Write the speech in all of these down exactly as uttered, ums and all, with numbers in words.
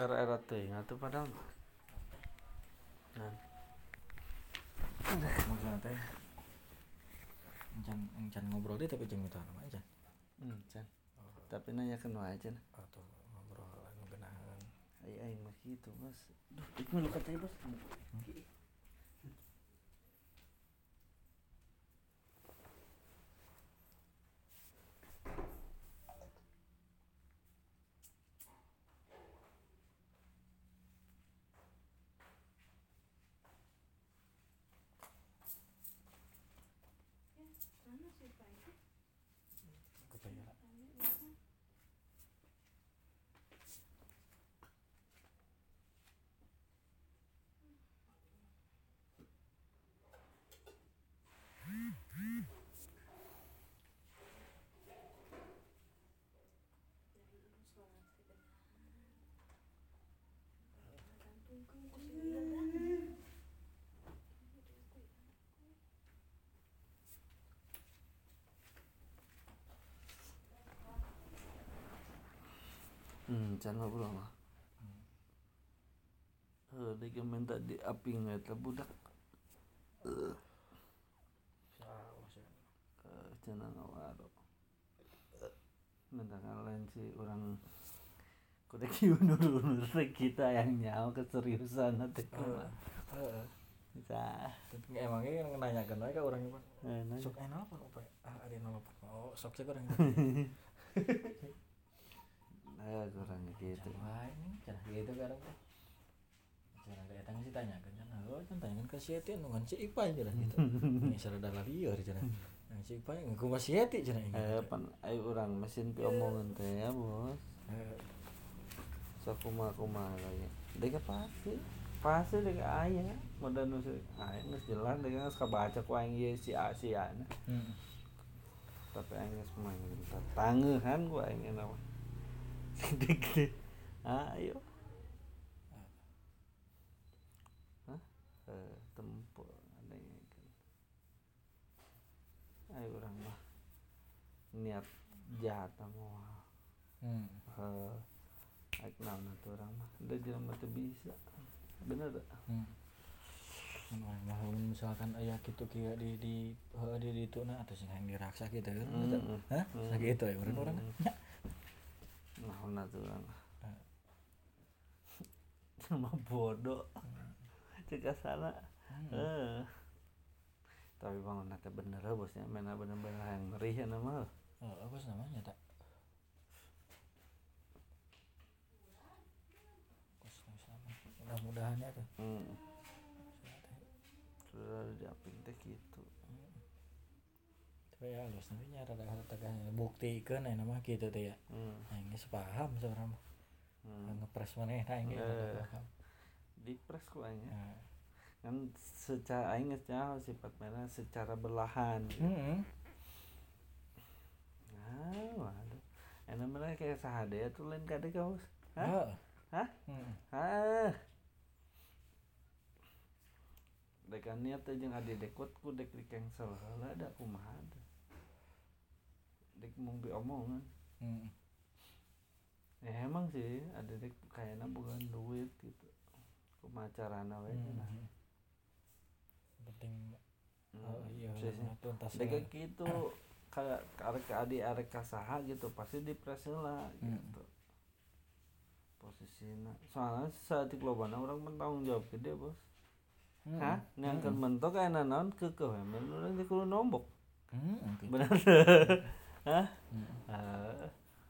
era-era teh atuh padahal nah maksudnya teh encan encan ngobrol deh tapi jeung mitra nama encan hmm, can. Tapi nanya ke wae aja nah. Atau ngobrol anu geunaheun Ai aing mah kitu Bos. Duh, itu mah lukat teh Bos. kebayar Hmm, can ngobrol mah. Heuh, deui ge minta diaping eta budak. Heuh, salah sih cenah ngawaro. Minta lain si urang kudu kieu undur-undur teh kita yang nyaho keseriusan teh kumaha. heeh Bisa. tapi emangnya yang nanyakeun wae ka urang mah Eh, nanya. sok aya nelpon apa ah ada nelpon oh sok sih urang Eh, kurang gitu. wae nih cenah gitu garang teh cenah ka eta geus ditanyakeun cenah oh can tanyakeun ka si Eti nu ngan si Ipai cenah gitu ini sarada lieur cenah yang si Ipai kumaha si Eti cenah Eh, pan ai urang mesin pi omongan teh ya, Bos. heeh Sok kumaha-kumaha lagi. Deui pasti. Pasti deui aya. Modal nu aya geus jelas deui geus kabaca ku aing ieu si A si A na. heeh Tapi aing geus mangin tatangeuhan ku aing eta mah. Sidik teh. Ayo. Hah? Eh, tempur ngadengkeun. Ai urang mah niat jahat mah. heeh Heuh. Aik naon atuh urang mah. Da jelema teu bisa. Bener da? heeh mun misalkan aya kitu kieu di di heuh di dituna atuh sing hayang diraksa kitu kan Mm-mm. hah sakitu ya urang-urang nya Naon atuh urang mah. Cuma bodoh. Cek asana. Heeh. Tapi bangun teh bener Bosnya, mena bener-bener hayang ngerih cenah mah. oh apa sih namanya tak mudah-mudahan ya tuh Hmm. Sudah diapin teh kitu. tapi ya halus nanti nyara ada tegas buktikeun aya mah kitu teh ya Hmm. aing geus paham sebenarnya mah Hmm. ngepres maneh aing ge Eh. paham Dipres ku aing nya. nah Kan secara aing geus nyaho sifat mana secara berlahan. heeh Ah, waduh. Ena mana kayak sahade atuh lain kade ka Bos. Hah? heeh Hah? heeh Ah. Dek niat teh jeung adi dekut ku dek di cancel heula da kumaha teh. Dek mung diomongan. heeh Ya emang sih ada dek kayaknya bukan duit gitu. Kumaha carana we cenah. penting Hmm, oh iya sih, sih. tuntas Dek kitu kayak arek adi arek kasaha gitu pasti dipres heula gitu. Posisina. Soalnya saeutik lobana urang bertanggung jawab gede, Bos. Hah? Neangkeun mentok aya naon keukeuh we mun urang teh kudu nombok. heeh Bener. Hah? Heeh.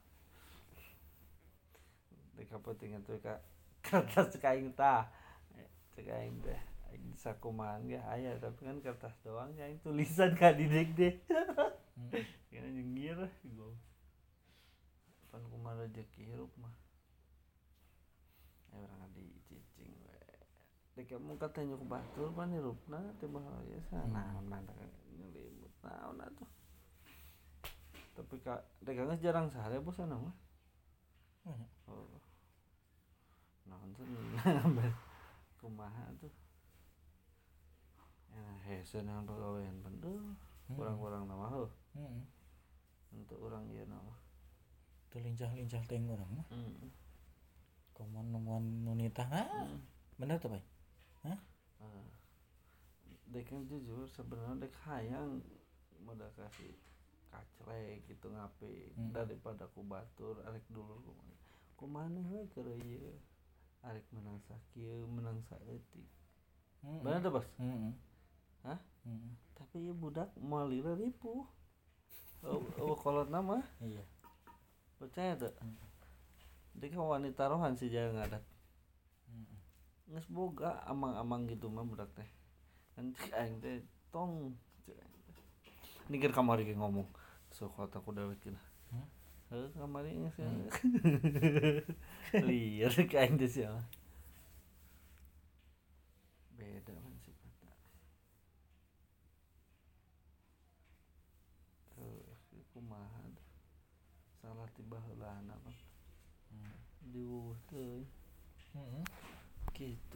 Dek kapentingan teh ka kertas cek aing tah. Cek aing teh aing sakumaha ge aya tapi kan kertas doang nya aing tulisan ka di dek deh. Kena nyengir gua. Pan kumaha rezeki hirup mah. Aya urang adi cicing we. Dek mun kata nyuk batur pan hirupna teu bahaya sanaon mantap nyelimut naon atuh. Tapi ka dek geus jarang sare Bos cenah mah. Oh. Naon tuh kumaha tuh. Enak hese nang pagawean bener. Urang-urang na mah heuh. heeh Untuk urang ieu na mah. teu lincah-lincah teh urang mah Heeh. Komon nomon nunitah nah. Hmm. Bener tuh, Bay? Hah? Uh, dek kan jujur sebenarnya dek hayang udah kasih kacrek gitu ngape Hmm. daripada ku batur arek dulu ku mana we keur ieu arek menang sakieu menang saeutik. Hmm. Bener tuh bos. Heeh. Hah? Heeh. Tapi ieu budak moal lila ripuh. Oh, oh kolotna mah Iya. percaya tuh. Hmm. Dek wanita rohan sih jangan ngadat. Heeh. Nges boga amang-amang gitu mah budak teh. Kan cik aing teh tong cik aing teh. Ningkeun kamari ge ngomong. Sok otak ku dawet cenah. Hmm? Heuh kamari geus ya. Hmm. Liar ka aing teh sia. Beda man sifatna. Heuh kumaha salah ti baheulana mah. Hmm. Diueuh teuing. Heeh. Gitu.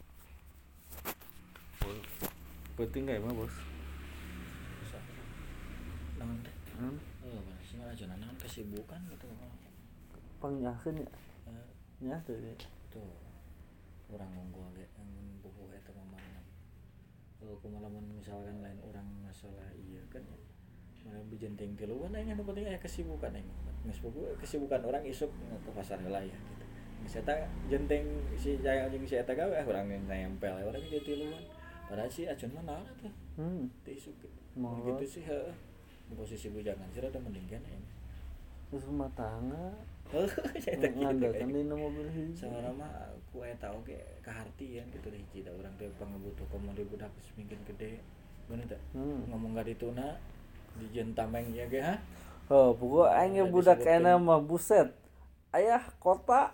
Penting gak emang bos? Bisa. Naon teh? Hmm? Oh, sih mah aja naon kesibukan gitu. Pangyakeun ya? Eh, Nya teu ya. tuh. Urang nunggu ge mun buku eta mah mana. Kalau kumalamun misalkan lain orang masalah iya kan ya. Mana bijenteng tiluan aing anu penting aya kesibukan aing. Geus buku kesibukan orang isuk ke pasar heula ya gitu. Geus eta jenteng si jaya jeung si eta gawe urang nempel urang jadi tiluan. Padahal si acun mah naon atuh. Hmm. Teu isuk gitu. Mau Gitu sih heueuh. Di posisi bujangan sih rada mending kan aing. Terus rumah tangga Heuh, eta kitu. ngandalkeun dina mobil hiji. Saurang mah ku eta oge kahartieun kitu deh hiji da urang teh pangabutuh komodi budak geus mungkin gede. Bener teh? Hmm. Ngomong ka dituna dijeun tameng ieu ge ha. Oh, pokok aing ge budak kana mah buset. Ayah kota.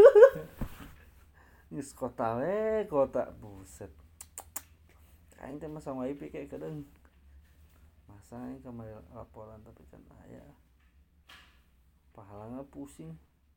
Geus kota we, kota buset. Aing teh mah sama I P kayak kedeung. Masa aing kamari laporan tapi kan aya. Pahalana pusing.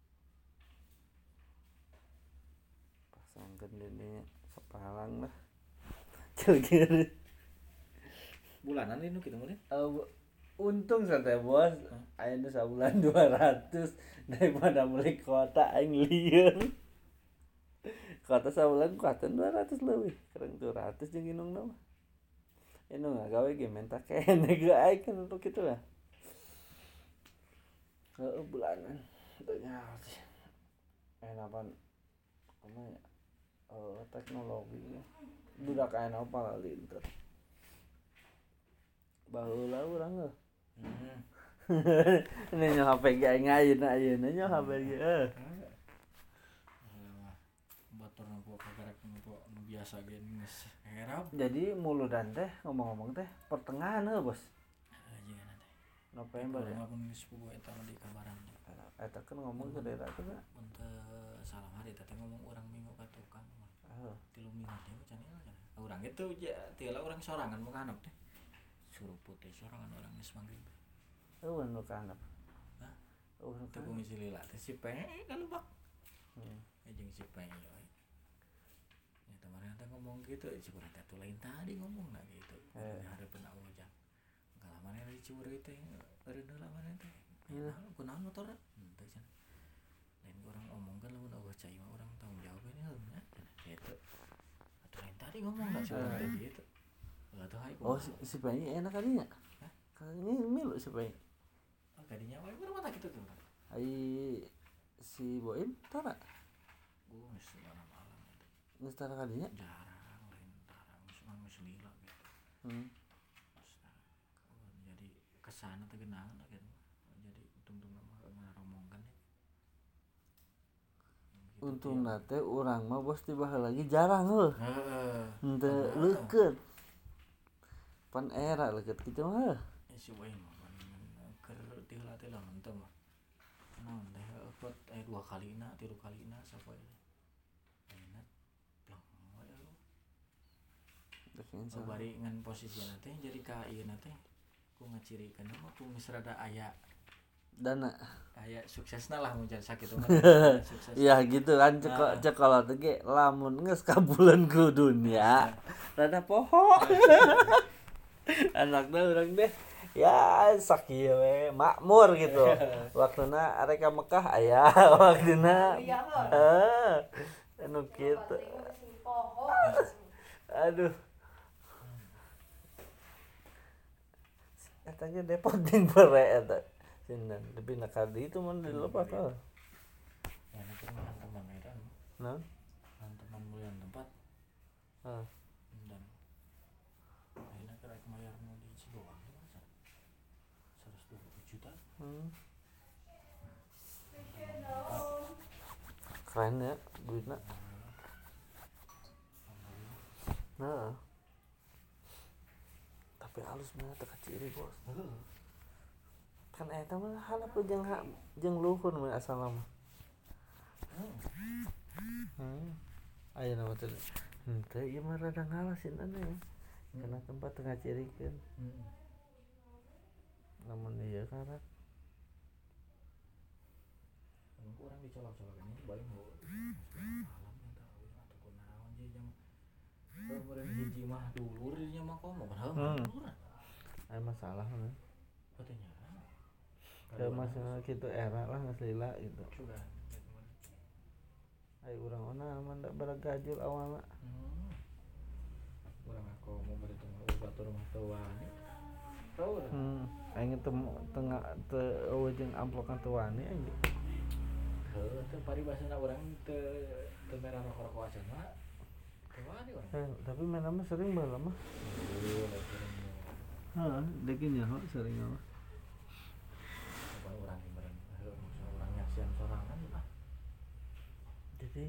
Pasangkeun dene sapahalang lah. Ceugeur. Bulanan ini kitu meureun. Uh, untung santai bos, aing teh sabulan dua ratus daripada beli kuota aing lieur. Kuota sabulan kuota dua ratus leuwih, kereng dua ratus jeung inungna mah. Inung gawe ge menta kene ge aing kan untuk kitu lah. Heueuh bulanan teu nyaho sih. Enapan kumaha ya? Oh, teknologi. Budak ayeuna pala linter. Baheula urang heuh. Hmm. Ini nyo H P ge aing ayeuna ayeuna nyo H P ge heuh. Alah, batur nu kagarak nu nu biasa ge geus herap. Jadi muludan teh ngomong-ngomong teh pertengahan heuh bos. Aja nanti. November ya. Ngomong geus pugu eta mah di kabaran. Eta kan ngomong ke daerah teh kan. Mun teu salah hari teh ngomong urang minggu ka tukang mah. Heuh. Tilu minggu teh can ieu can. Urang itu teu lah urang sorangan mun kanep teh. Suruh putih sorangan urang geus maghrib. Eueuh nu kanep. Hah? Eueuh nu Teu kanep. ngisi lila teh si pe kalubak. Hmm. Jeung si pe we. Ya kemarin teh ngomong gitu, cikurang teh lain tadi ngomong na gitu. Eh. Hareupeun awojang. Kalau mana di Ciwureu teh eureun heula mana teh. Iya. Kunaon motor? Henteu cenah. Lain urang omongkeun lamun eueuh cai mah urang tanggung jawab ini heula cenah. Gitu. Atuh lain tadi ngomong na cikurang teh gitu. Atuh hai. Oh si, si Bayi enak kadinya. Hah? Kali ini milu si Bayi. Oh, kadinya wae urang mah kitu tuh. Ai si Boim tara. Gua geus malam-malam eta. Geus tara kadinya. Jarang lain tarang geus mah geus lila gitu. Hmm. Jadi kesana teh geunang lah gitu. Jadi untung-untung mah ngaromongkeun ya. Untungna teh urang mah bos tiba lagi jarang heuh. Heeh. Henteu leukeut. Pan era leukeut kitu mah heuh. Ya si wae mah keur tiheula teh lah henteu mah. Naon teh upload aya dua kalina, tilu kalina sapoe. Enak. Plong wae lu. Defensa. Bari ngan posisina teh jadi ka ieu na teh ku ngacirikeun mah ku geus rada aya Dana. aya suksesna lah mun can sakitu mah. Sukses. Ya gitu kan cek Nah. cekolot ge lamun geus kabuleun ku dunya rada poho. Anakna urang deh Ya sakieu we makmur gitu. Waktuna arek ka Mekah aya waktuna. Heeh. Anu kitu. Aduh. Eta ge Depok jeung bere eta. Sindan lebih nakal di itu mun di lupa kal. Ya nanti makan teman eta. Naon? Makan teman mulian tempat. Heeh. Dan akhirnya kerek mayar mau di Cidoang itu masa seratus dua puluh juta. Hmm. Keren ya duitna. Nah. Tapi halus mah teu kaciri bos. Kan eta mah halap jeung jeung luhur mah asalna mah. Hmm. Ayeuna mah teh henteu ieu mah rada ngalah sinana ya. Karena tempat teu ngacirikeun. Heeh. Namun ieu karak Orang dicolok-colokan ini bae mau alam eta atau kunaon je jeung beureun hiji mah dulur nya mah komo padahal dulur. Aya masalah mah. Katanya. Teu masalah kitu era lah geus lila gitu. Sudah. Ai urang ona mah da baragajul awalna. Hmm. Urang aku mau bari teu batur mah teu wani. Teu. Hmm. Aing teu tengah teu eueuh jeung amplokan teu wani anjing. Heuh, teu paribasana urang teu teu merah rokok-rokok acan mah. Teu wani urang. Eh, tapi mana mah sering baheula mah. Heuh, da sering. Heeh, deui nyaho sering mah. Apa urang ieu meureun heuh maksudna urang nyaksian sorangan ah. Jadi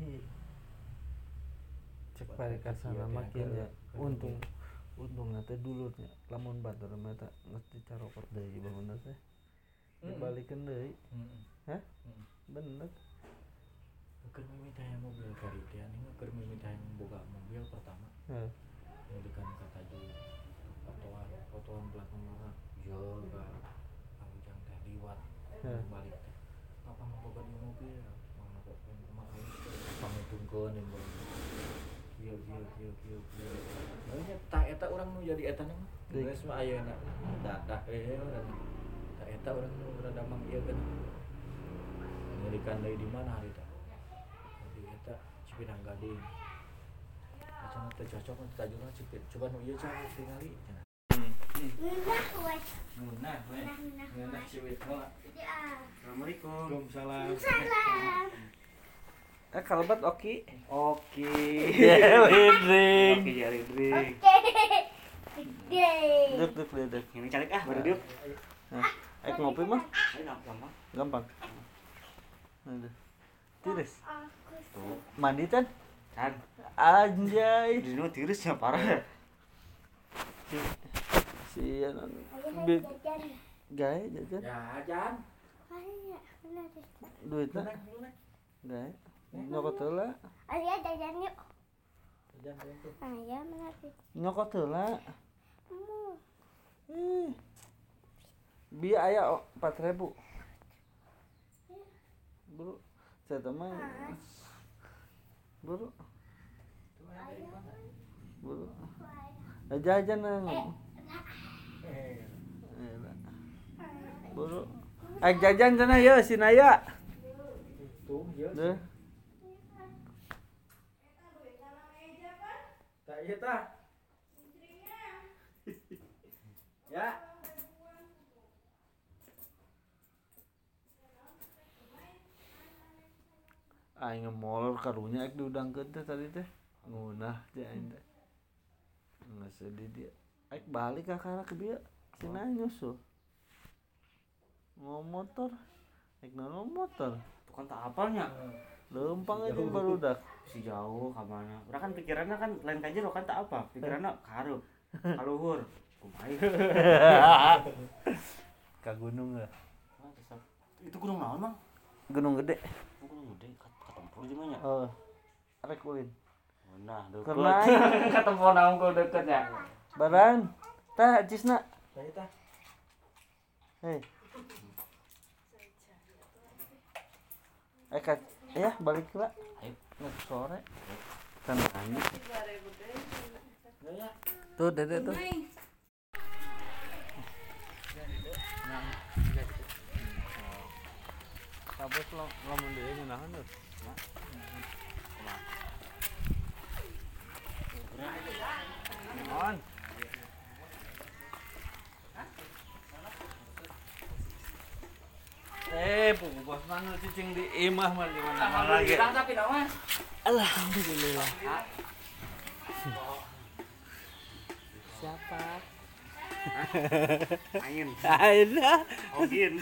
cek parikasana makin ya untung untungna teh dulurnya lamun batur mah eta geus dicarokot deui bangunna teh. Dibalikeun deui. Heeh. Hah? Heeh. Bener. Keur mimiti hayang mobil kari teh anu keur mimiti hayang boga mobil pertama. Heeh. Ngedekan kata ju fotoan fotoan plat nomorna jaga panjang teh liwat balik teh. Apa mau boga di mobil? Mana kok kemarin pamutungkeun yang baru. Kieu kieu kieu kieu kieu. Nya tak eta urang nu jadi eta mah. Geus mah ayeuna dadah we urang. Tak eta urang nu rada mang ieu kan. Ngerikan deui di mana hari teh. Di eta Cipinang Gading. Acan teh cocok teh tajuna cipit. Coba nu ieu cara tingali cenah. Ngunah we. Ngunah we. Ngunah ciwit mah. Assalamualaikum. Waalaikumsalam. Salam. Eh kalebat oki. Oke. Ridring. Oke ya Ridring. Gede. Duk duk duk, duk. Ini calik ah, baru duduk. Nah, eh ngopi mah Ayo gampang. gampang. Aduh. Tiris. Tuh, Mandi kan? kan. Anjay. Di nu tirisnya parah. Sian Ayo Bib jajan. gae jajan. Ya, Jan. Ayo, bener deh. Duitna Lunak, lunak. gae. Nyokot heula. Ayo jajan yuk. Jan tuh. Ayo bener deh. Nyokot heula. Mu. Ih. Bi aya empat ribu. Buru. Saya teman. Buru. Buru. Eh, jajan nang. Eh, Buru. Eh jajan sana ya si Naya. tuh, ya. Deh. Tak iya tah. Ya. Aing ngemolor karunya ek diudangkeun teh tadi teh. Ngunah teh aing teh. Geus sedih dia. Ek balik ka kana ke dia. Cenah nyusul. Mau motor. Ek naon motor. Tukang tak apalnya Lempang aja barudak. si jauh ka mana. Urang kan pikiranna kan lain ka jero kan tak apa. Pikiranna ka hareup. Ka luhur. Kumaha? Ka gunung lah. Itu gunung naon, Mang? Gunung gede. Oh, gunung gede katempur di mana? Oh. Arek ulin. Nah, deukeut. Keur Ketemu naon ku deukeut ya. Baran. Tah cisna. Tak iya tah. Hei. Eh kat, ya balik lah. Ayo. Nggak sore. Kan anjing. Ya ya. Tuh dede tuh. Kabos lo lamun deui ngeunaheun tuh. On. Eh, pugu bos mana cicing di imah mah di mana lagi. Tapi naon? Alhamdulillah. Siapa? Angin. Aina. Ogin.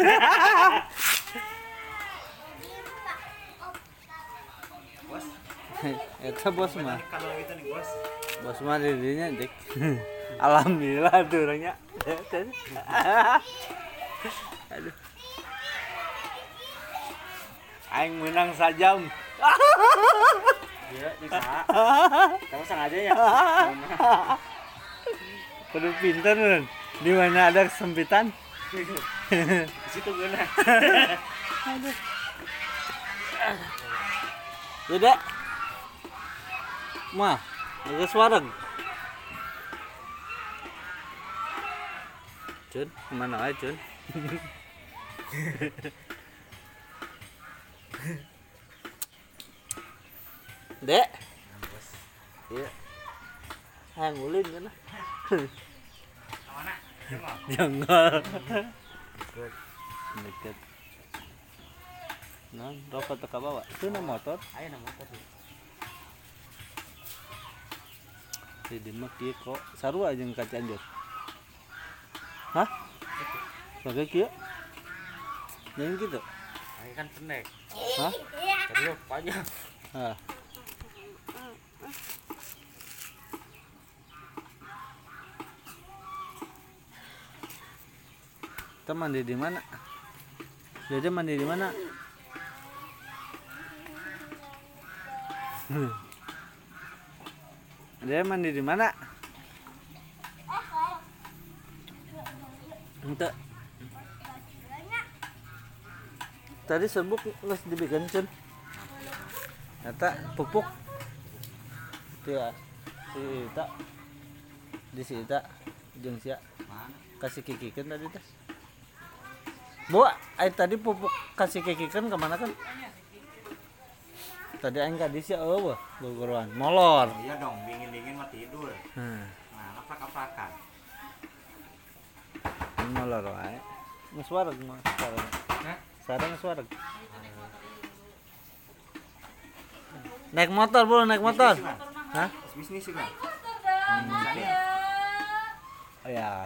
Bos, Eta bos mah. kalau gitu nih bos. Bos mah dirinya dik. Alhamdulillah tuh orangnya. Aduh. Aing menang sajam. Iya, bisa. Kamu sengaja ya? Kudu pinter kan. Di mana ada kesempitan? Di situ guna. Beda. Mah, geus wareg. Cun, kemana aja Cun? Dek. Iya. Hang ulin kan. Mana? Jangan. Deket. Nah, rokok teka bawa. Itu na motor. Ayo na motor. Di dimak kieu kok sarua jeung ka Cianjur. Hah? Pakai kieu? Yang gitu. Ayo kan pendek. Hah? Terus panjang. Ah. Kita mandi di mana? Dede mandi di mana? Dede mandi di mana? Ente. Tadi serbuk geus dibikin Cun. Eta pupuk. Dia si Ita. Di si Ita jeung sia. Mana? Kasih kikikeun tadi teh. Bu, ai tadi pupuk kasih kikikeun ke mana kan? Tadi aing ka dieu eueuh gogoroan. Molor. Iya dong, dingin-dingin mah tidur. Hmm. Nah, aprak-aprakan. Molor wae. Geus wareg mah sareng. Hah? Sareng geus wareg. Naik motor, bro, naik motor. Hah? Bisnis juga. Oh ya.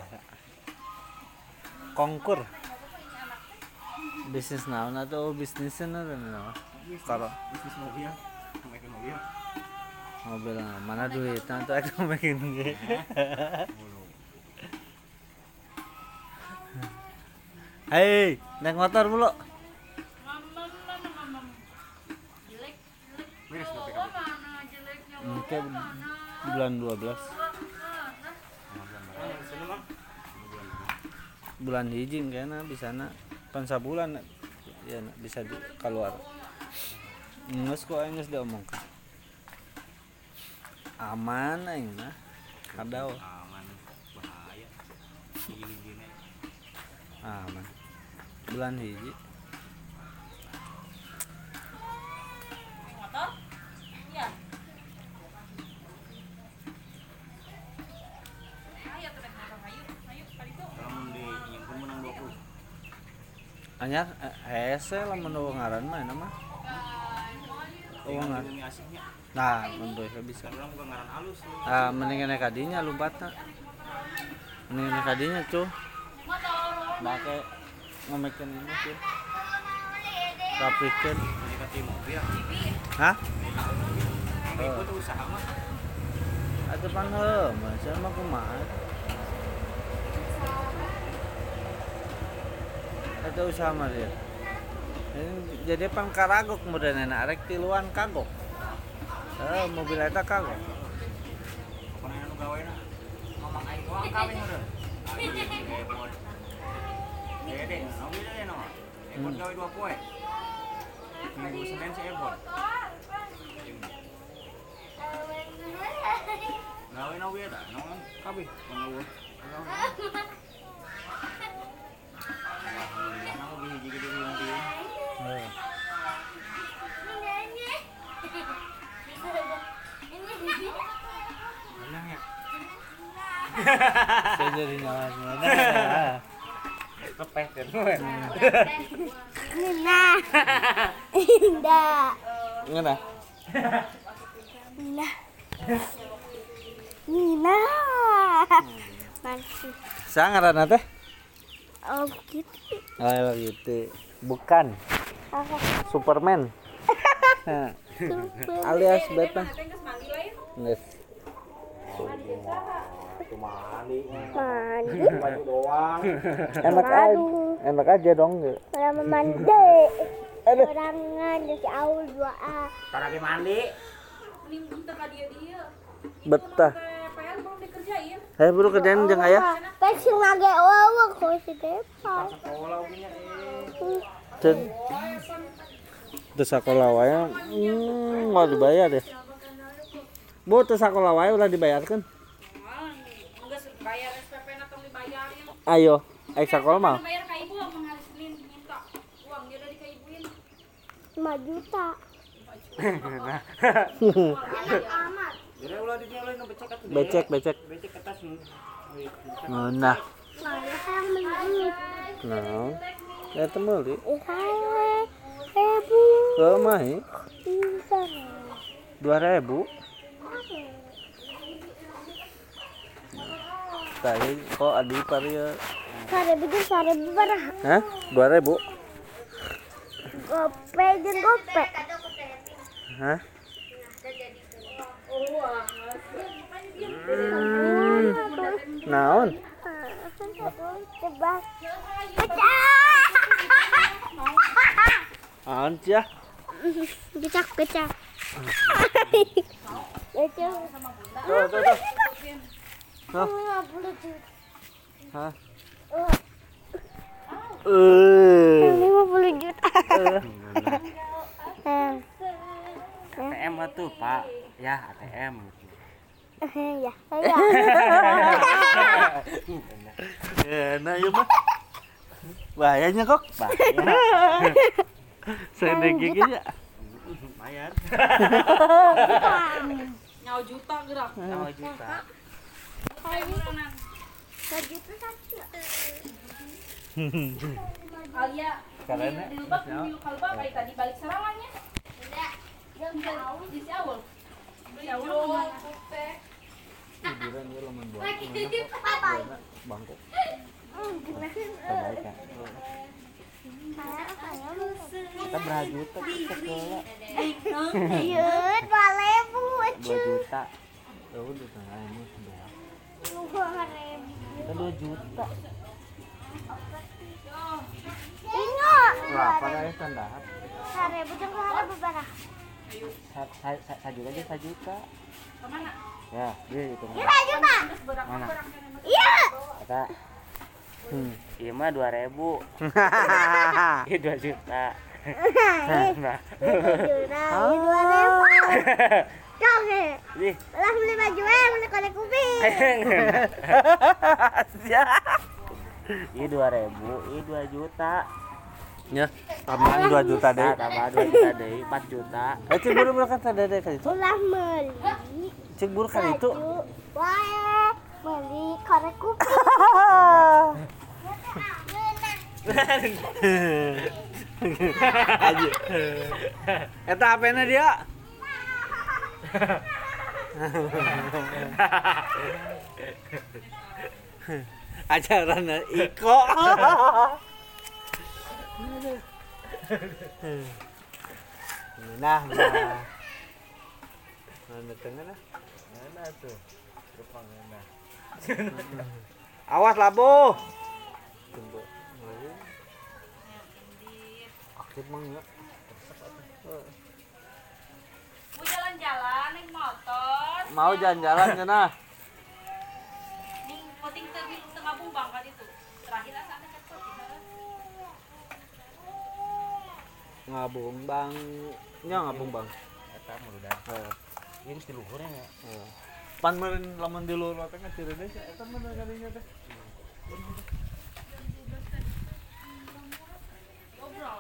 Kongkur. Bisnis naon atau bisnisnya naon? Kalau Bisnis mobil, bikin mobil. mobil mana duit nanti aku bikin ge. Hei, naik motor mulu. Beres P P K B. Mungkin bulan dua belas. Bulan hiji kayaknya bisa na pan sabulan ya na, bisa di keluar. Nges kok aing geus diomongkeun. Aman aing mah. Kadao Aman, bahaya. Gini-gini. aman. Bulan hiji. Motor? Iya. Ayo tuh naik motor, ayo, ayo, kali itu. Kalau mau di nyimpen menang dua puluh. Anyar hese lamun eueuh ngaran mah eta mah. Eueuh ngaran. Ini asiknya. Nah, menurut saya bisa. Kan orang bukan ngaran halus. Ah, mendingan naik kadinya lompatna. Mendingan naik kadinya, cuy. Make ngomekeun ini sih. Rapikeun. Menikati mobil. Hah? Tapi itu tuh usaha mah. Atuh pan heuh, mah saya mah kumaha. Eta usaha mah dia. Ini jadi pan karagok modelna arek tiluan kagok. Eh, mobil eta kagok. Pokoknya anu gawena. Mamang aing doang kawin udah. Ayo ebon. Dede, nabi deh no. Ebon gawe dua poe. Minggu Senin si ebon. Gawe nabi ada, naon kabeh. Mengeluh. Alhamdulillah, nabi hiji gede hiji. Heuh. Saya jadi nyawa. Kepeh kan. Nina. Indah. Ngena. Nina. Nina. Masih. Sangaran teh? Oh gitu. Oh gitu. Bukan. Apa? Superman. Nah, Super. alias Batman. Teh geus mandi lain. Nges. Mandi. Mandi. Baju doang. Enak aja. Enak aja dong. Orang mandi. Aduh. Orang ngadu si Aul dua A. Tar lagi mandi. Mending kita ka dia dia. Betah. P R belum dikerjain. Saya buru kerjaan jeung aya. Pasti ngage wawa kok si Depa. Sekolah punya eh. Cen. Teu sakola wae. Hmm, mau dibayar deh. Bu, teu sakola wae ulah dibayarkeun. Enggak bayar S P P atau dibayarin. Ayo, ayo sakola mah. Bayar ka ibu mengaris Senin minta uang dia dari ka ibuin. lima juta. Enak amat. Jadi ulah di dia lain becek atuh. Becek, becek. Becek ke tas nu. Nah, Nah, ya sayang menang. nah. Ya temeli. Ihai. Hebu. Ke mah Bisa. dua ribu. Tadi kok adi paria. Sare bikin sare berah. Hah? dua ribu. Gope jeung gope. Hah? Naon? Coba. Naon cia? Gecak gecak. Gecak. Tuh, tuh, tuh. Tuh. lima puluh juta. Hah? Eh. lima puluh juta. Eh. A T M tuh, Pak. Ya, A T M. Ya, ya. Ya, nah ieu mah. Bahayanya kok. Saya gigi ya. Lumayan. Nyawa juta gerak. Nyawa juta. Sejuta satu. Alia Keren di lubak di kalba kayak tadi balik serangannya. Yang jauh di si Aul. Si Aul Tiduran dia lemon buah. Bangkok. Terbaik kan. Kita berapa juta sekolah? Iya, dua ribu. dua juta. Ya udah tengah ini sudah. Dua ribu. Kita dua juta. Ingat. Berapa guys standar? Dua ribu jeung dua ribu berapa? Satu juta aja satu juta. kemana? Ya, dia itu. Iya, juta. Mana? Iya. Kata Hmm. iya mah dua ribu. Iya dua juta. Nah. Juta, dua ribu. Oke. Ih, Lah beli baju eh, beli korek kuping. iya dua ribu, iya dua juta. Ya, tambahan dua juta deh. Nah, tambah dua juta deh, empat juta. Eh, cek buru buru kan tadi deh kan itu. Ulah beli Cek buru kan itu. baju. Wae, beli korek kuping. Aja. Eta apena dia? Ajaran Iko. Nah, nah. Mana tengah nah? Mana tuh? Depan nah. Awas labu. Tunggu. Aktif mang ya. Mau jalan-jalan naik motor. Mau jalan-jalan cenah. Ning penting teu tengah bumbang kan itu. Terakhir asana cepet. Ngabung bang. Nya ngabung bang. Eta mah udah. Heeh. Ini mesti luhurnya ya. Heeh. Pan meureun lamun di luar teh ngaceureun deui eta mah kadinya teh. Ngobrol.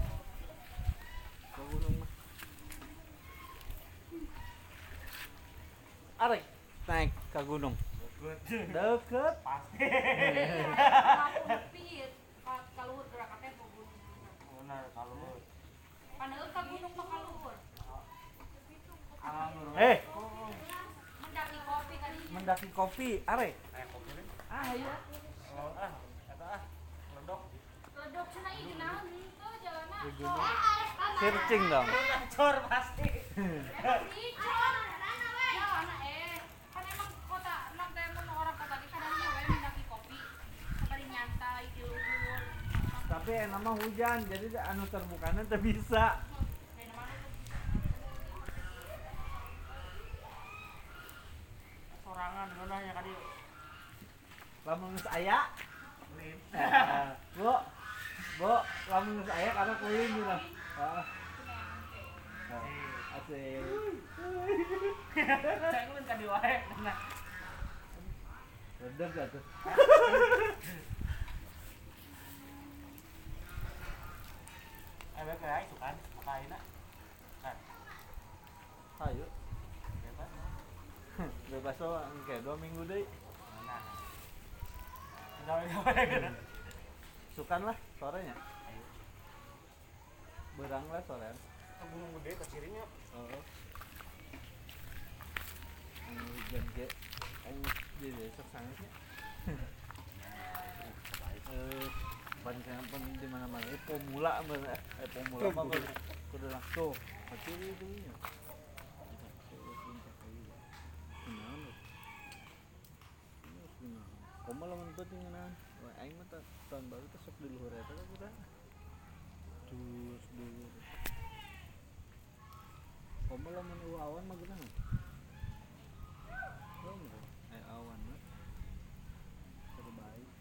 Ka gunung mah. Arek naik ka gunung. Deket. Deket. Pasti. Aku nepi kalau gerakatnya ke gunung. Benar kalau Padahal ke gunung mah kaluhur. alam nur. Eh, Mendaki kopi tadi. mendaki kopi, are. Eh kopi nih. Ah, ayo. Kalau ah, kata ah, ledok. Ledok cenah ieu naon tuh jalanna. Di gunung. Searching dong. Cor pasti. Emang dicor. Ya anak eh. Kan emang kota enak teh mun orang kota di kadang we mendaki kopi. Sabari nyantai di luhur. Tapi enak mah hujan, jadi anu terbukana teu bisa. Sorangan gunanya kadi. Lamun geus aya, Lin. Bu. Bu, lamun geus aya karena kuing gitu. Heeh. Asik. Saya ngun kadi wae nah. Redep dah tuh. Eh bae kae sukan apa ayeuna? Kan. Ayo. Bebas. Bebas lo kayak dua minggu deh. Nah. Gawe-gawe gitu. Sukan lah sorenya. Berang lah sore. Ke Gunung Gede ke Cirinya. Oh. Anu hujan ge. Anu di besok sangatnya. Eh, banyak pun di mana-mana. Eh, pemula bener. Eh, pemula mah kudu kudu langsung. Kecil itu nya. Komo lamun penting ngeunaan. Wah, aing mah tahun baru teh sok di luhur eta kan urang. Dus dulu. Komo lamun eueuh awan mah geunahan. Oh, eh awan mah. Terbaik.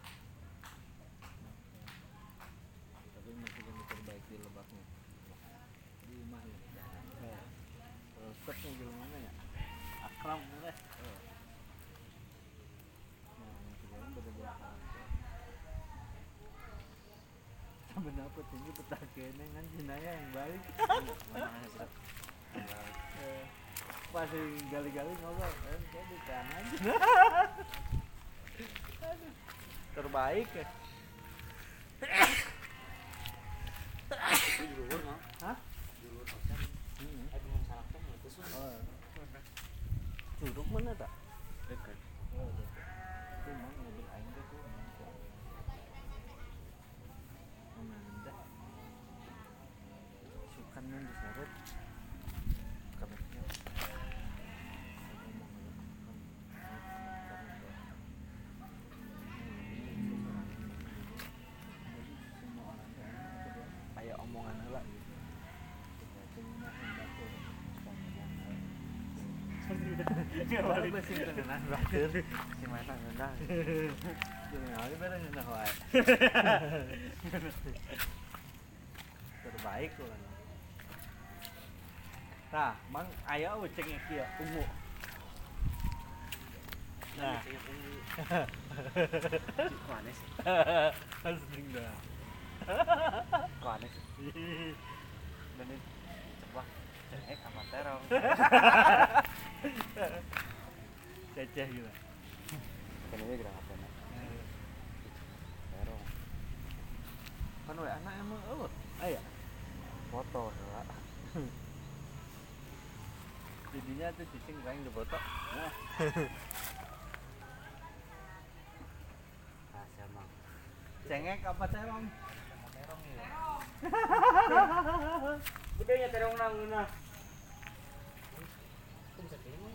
Tapi masih kan terbaik di lebaknya. Di rumah ya. Terus tetnya gimana ya? Akram udah. Benapa tinggi petah kene kan jenaya yang balik. Pasti gali-gali ngobrol kan kayak di tangan aja. Terbaik ya. Di luhur mah. Hah? Di luhur kosan. Heeh. Eh teman salaknya itu sih. Oh. Curug mana tak? Dekat. Oh, dekat. Itu mah mobil aing teh tuh. Mana sukannya diseret kabehnya kayak omongan heula gitu. Balik besi tengenan batur si mana ngeunah. Jangan aja bareng ngeunah wae. Terbaik tuh kan. Nah, mang aya uceng kieu ungu. Nah, Kok aneh sih? asing dah. Kok aneh sih? Dan ini coba cek sama terong. Ceceh gitu. Kan ini gerak apa nak? Terong. Kan we anak emang eueuh. Aya. Foto heula. Jadinya tuh cicing paling dipoto. Nah, Rahasia mang. cengek apa terong? Terong ya. Gedenya terong nang ngeunah. Itu bisa terima.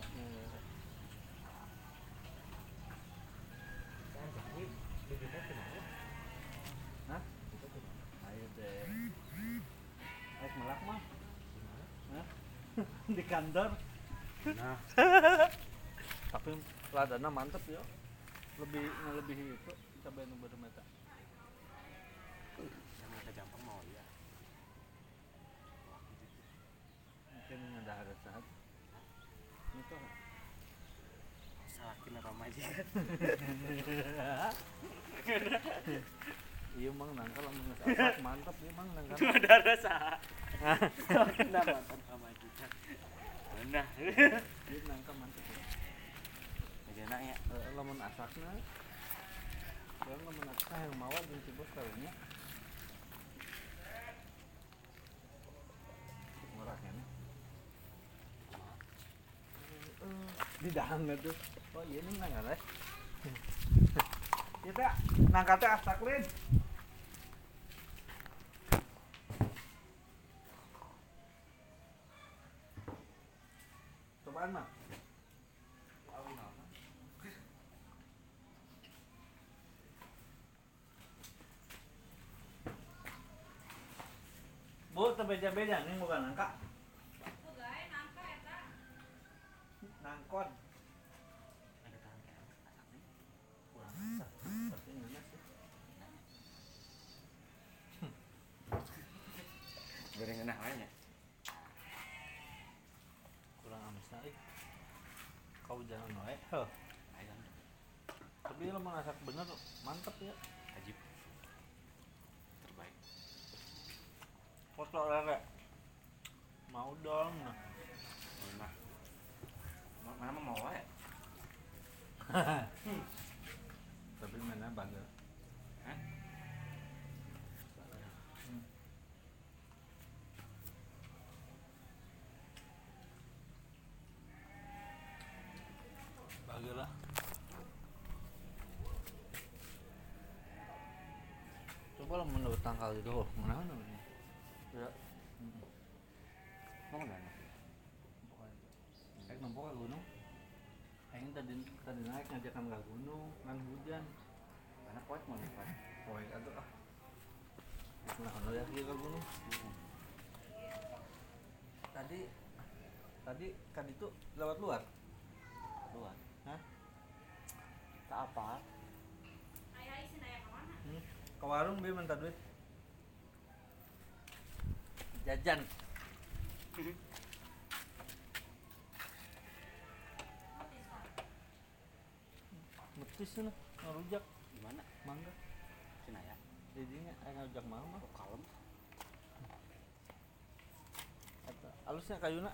Saya jadi bibitnya kenapa? Hah? Ayo deh. Ayo melak mah. Hah? Di kantor. Nah, Tapi ladana mantep ya. Lebih ngelebihi itu cabai nu baru meta. sama kita gampang mau ya. Mungkin ada ada saat. Itu Salakin apa aja. iya mang nangka lamun geus asap mantep ieu mang nangka. Ada rasa. Kenapa mantan sama kita? Nah, Ieu nangka mantep ya. Ayeuna nya. Eh, lamun asakna. Ya lamun asak yang mawa jeung si bos karunya. Murah kan. Di dahamnya tuh. Oh iya nih nangka teh. Ieu teh nangka teh asak lin. Cobaan mah. Bu, tebeja-beja nih bukan nangka. Pegawai nangka eta. Nangkon. Ada tahan kayak asak nih. Kurang asak. Tapi nanas sih. Goreng enak wae nya. Kurang amis euy. Kau jangan wae. Heuh. Ayam Tapi lo masak bener mantep ya. ajib. Terbaik. Foto lele. Mau dong. Nah. Mana? Mana mah mau wae. Tapi mana bagel. Hah? Bagel lah. Coba lah menurut tanggal itu, oh, mana namanya? Ya. Hmm. Mau mana? Kayak nampak ke gunung. Kayaknya tadi tadi naik ngajakan ke gunung, kan hujan. Mana kuat mau kuat. Poek atuh ah. Nah, ono ya ke gunung. Tadi tadi kan itu lewat luar. Luar. Hah? Tak apa. Ayah isi naya kemana? Hmm. Ke warung dia minta duit. Jajan. Metis nih, ngerujak Di mana? mangga. Sinaya. Jadinya ayo ngerujak mau mah. Oh, kalem. Eta alusnya kayuna.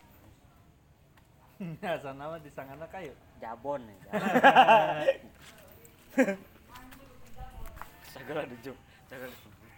Ya sana mah disangana kayu. Jabon ya. Sagala dijuk. Sagala.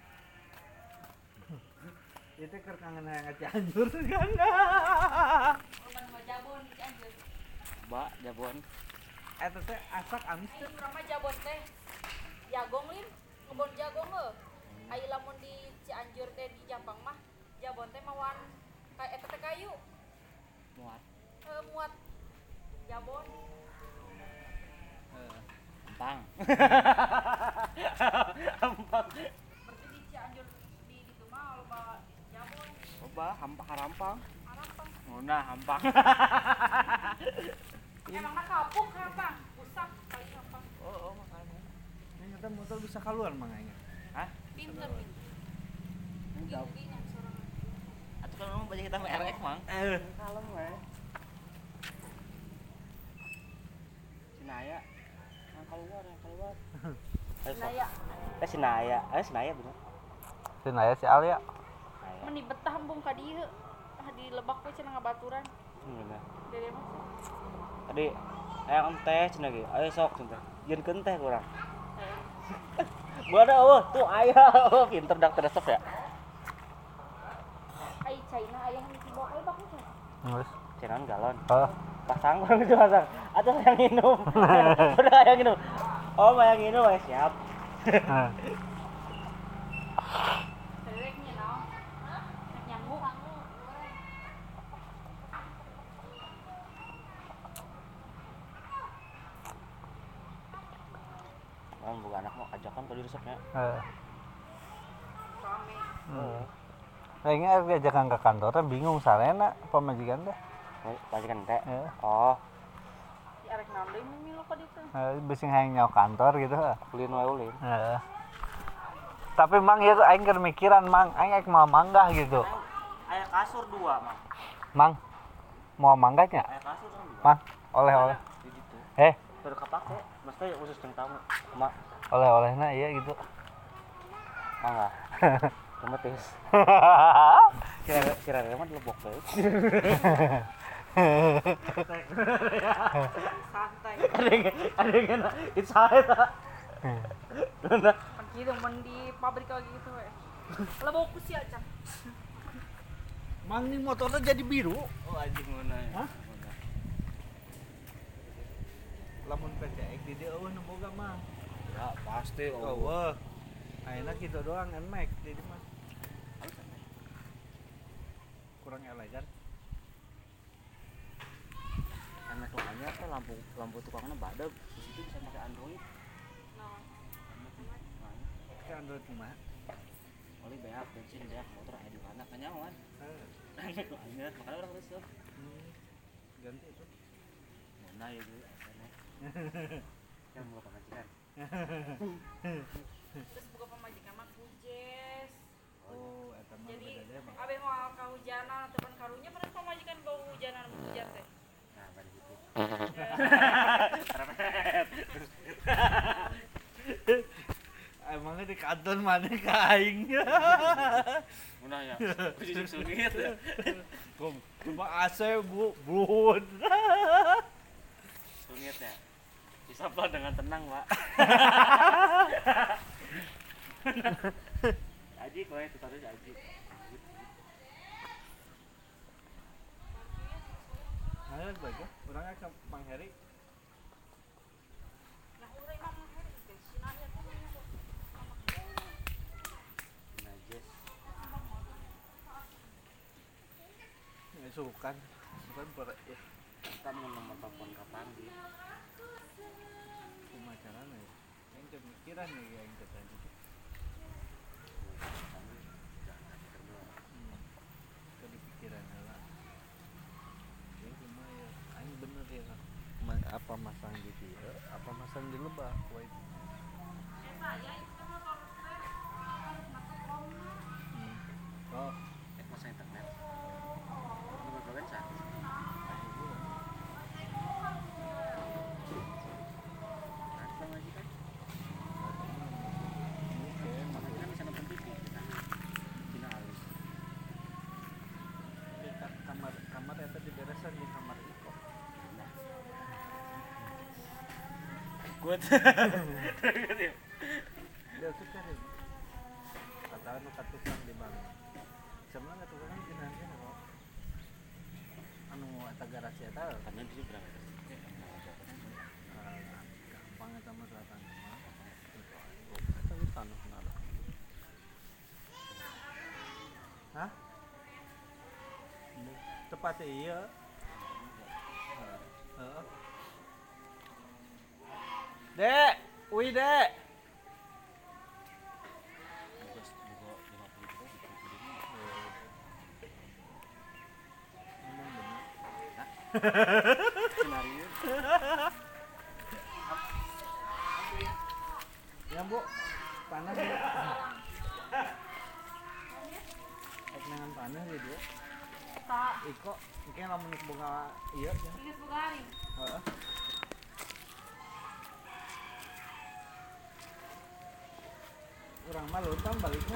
Itu keur kangen hayang Cianjur kan. Korban mah jabon di Cianjur. Ba, jabon. Eta teh asak amis Ayo teh. urang mah jabon teh. Jagong lin, ngebon jagong heuh. Ayo lamun di Cianjur teh di Jampang mah jabon teh mawan kayak eta teh kayu. Muat. Heuh muat jabon. Heeh. Empang. Berarti di Cianjur di ditu mah loba jabon. Coba hampang harampang. Harampang. Nguna hampang. Emang mah kapuk harampang. Busak kali harampang. Oh, oh makanya. Ini kita motor bisa keluar manganya. Hah? Pinter pinter. Enggak. Gini yang sorangan. Atuh kan mau baca kita R X, Mang. Eh, Kalem we. Sinaya. Yang keluar, yang keluar. Ayo, sok. Naya. Eh Sinaya, eh Sinaya bener. Sinaya si Alia. Sinaya. Meni betah hembung ka dieu. Ah di lebak we cenah ngabaturan. Hmm, bener. Dede mah. Tadi ayam teh cenah ge. Ayo sok cenah. Jeunkeun teh kurang. Gua ada oh tuh aya oh pinter dak resep ya. Ai China aya yang dibawa ke lebak we. Geus. Cenan galon. Oh. Pasang kurang itu pasang. Atuh yang minum. Udah yang minum. Oh, yang minum ya siap. Tereknya naon? Nyamuk. Kan bukan anak mau ajakan kalau resepnya. Heeh. Rame. Heeh. Kayaknya aku ajakan ke kantornya bingung sarena pemajikan teh. Majikan teh. Heeh. Oh, Di arek naon deui mimilu ka ditu. Heeh, bising hayang nyawa kantor gitu. ulin wae ulin. Heeh. Tapi Mang ya aing keur mikiran Mang, aing ek mau manggah gitu. Aya kasur dua, Mang. Mang mau manggahnya? Aya kasur kan dua. Mang, oleh-oleh. Di ditu. Eh, Baru kapake, mesti khusus teng tamu. Mak, oleh-olehna iya gitu. mangga. Kemetis. Kira kira mah lebok bae. Santai. Ada yang ada yang kena inside. Nah, Kan gitu men di pabrik kayak gitu we. Lebok ku sih aja. mang nih motornya jadi biru. Oh anjing mana ya? Hah? Lamun P C X di dieu eueuh nu boga mah. Ya pasti oh. Eueuh. Ayeuna kitu doang Nmax di dieu mah. Kurang elegan. Karena soalnya tuh lampu lampu tukangnya badag, di situ bisa pakai Android. Nah, Ke Android mah. Oleh beak bensin beak motor aya di mana kanyawan. Heeh. Enak banget, makanya orang resep. Hmm. Ganti itu. Mana ya bu? Yang mau pengajian. terus buka pemajikan mah kujes. Oh, eta mah Jadi beda deh mah. abe moal kahujanan ataupun karunya pernah pemajikan bau hujanan hujan teh. Nah, pada gitu. Emangnya di kantor mana ka aing? Mana ya? Kujuk sungit. Kom, cuma A C bu, bun. Sungit ya. Bisa pelan dengan tenang, Pak. Aji kowe itu tadi aji. Ayo bagus, orangnya ke Mang Heri. Nah, urang mah mah teh sinanya tuh Najes. Ya sukan, sukan per ya. Kita mau nomor telepon kapan di? Pemacaran ya. Yang kemikiran ya yang kita tadi. Ke pikiran lah. Ya cuma ya, aing bener ya. Ma- apa masang di dia, apa masang di lebah, wait. eh saya itu mah kalau teh harus masuk komna. Hmm. Oh, Eh, masa internet. Nomor berapa sah? Apa lagi kan? Mana kita bisa nonton T V kita. Cina halus. kamar kamar eta diberesan di kamar Iko. Kuat. Dia tuh kan kata anu katukang di bang. Sebenarnya katukang gini aja kok. Anu eta garasi eta Karena di sini berapa? eh, gampang eta mah selatan mah. Eta di tanah nara. Hah? Tepatnya iya. Heeh. Dek, wih dek. Bebas juga lima puluh juta di T V ini. Ngomong bener. Skenario. Ya bu, panas ya. Eknangan panas ya dia. Tak, Iko, mungkin lamun bunga iya ya. geus bugari. Heeh. Urang mah luntang baliknya.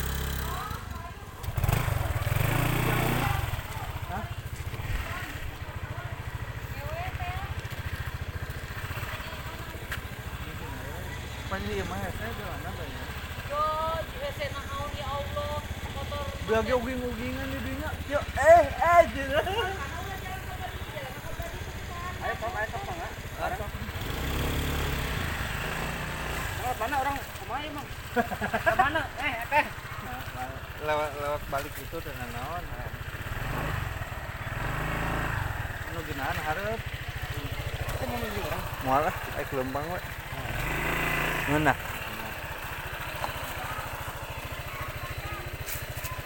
Hah? Panji ieu mah saya jalan apa ya? Yo, jese na naon ya Allah, motor. Biar ge uging-ugingan di dinya. Yo eh eh cenah. Ayo Pak, ayo Pak, enggak? Atau Lewat mana orang kumaha emang? Ke mana? Eh, teh. lewat lewat balik itu dengan naon? Anu ginaan hareup. Itu mau nunggu orang. Moal lah, aik lempang we. Ngeunah.